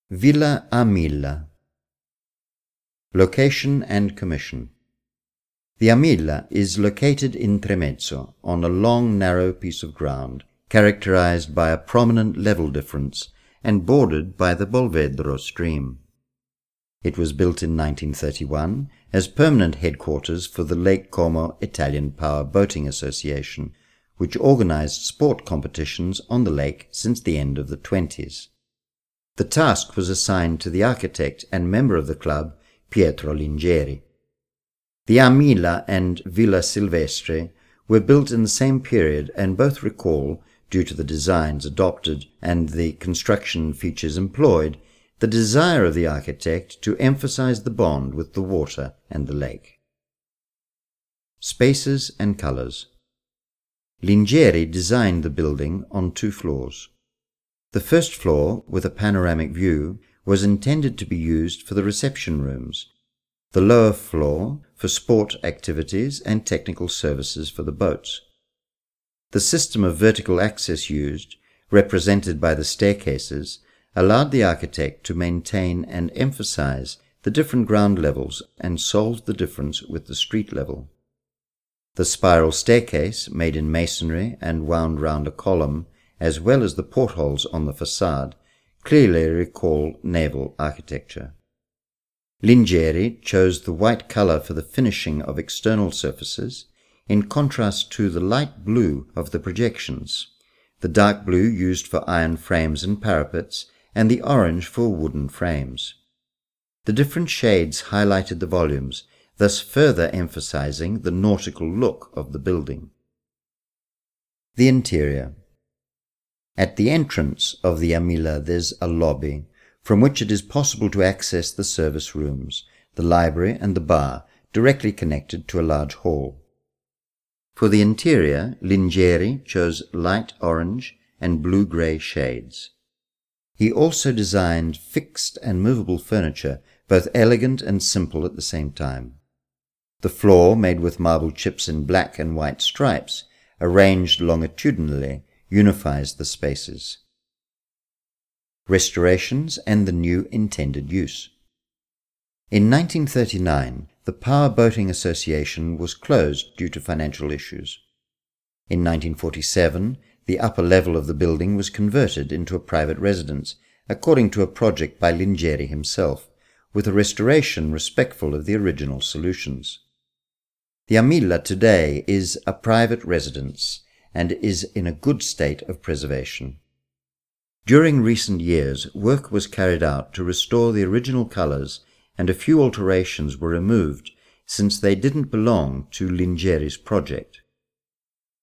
Villa Amilla. Location and commission. The Amilla is located in Tremezzo on a long narrow piece of ground characterized by a prominent level difference and bordered by the Bolvedro stream. It was built in 1931 as permanent headquarters for the Lake Como Italian Power Boating Association, which organized sport competitions on the lake since the end of the 1920s. The task was assigned to the architect and member of the club, Pietro Lingeri. The Amilla and Villa Silvestre were built in the same period and both recall, due to the designs adopted and the construction features employed, the desire of the architect to emphasize the bond with the water and the lake. Spaces and colors. Lingeri designed the building on 2 floors. The first floor, with a panoramic view, was intended to be used for the reception rooms, the lower floor for sport activities and technical services for the boats. The system of vertical access used, represented by the staircases, allowed the architect to maintain and emphasize the different ground levels and solve the difference with the street level. The spiral staircase, made in masonry and wound round a column, as well as the portholes on the facade, clearly recall naval architecture. Lingeri chose the white color for the finishing of external surfaces, in contrast to the light blue of the projections, the dark blue used for iron frames and parapets, and the orange for wooden frames. The different shades highlighted the volumes, thus further emphasizing the nautical look of the building. The interior. At the entrance of the Amilla there's a lobby, from which it is possible to access the service rooms, the library and the bar, directly connected to a large hall. For the interior, Lingeri chose light orange and blue-grey shades. He also designed fixed and movable furniture, both elegant and simple at the same time. The floor, made with marble chips in black and white stripes, arranged longitudinally, unifies the spaces. Restorations and the new intended use. In 1939, the Power Boating Association was closed due to financial issues. In 1947, the upper level of the building was converted into a private residence, according to a project by Lingeri himself, with a restoration respectful of the original solutions. The Amilla today is a private residence and is in a good state of preservation. During recent years, work was carried out to restore the original colors, and a few alterations were removed since they didn't belong to Lingeri's project.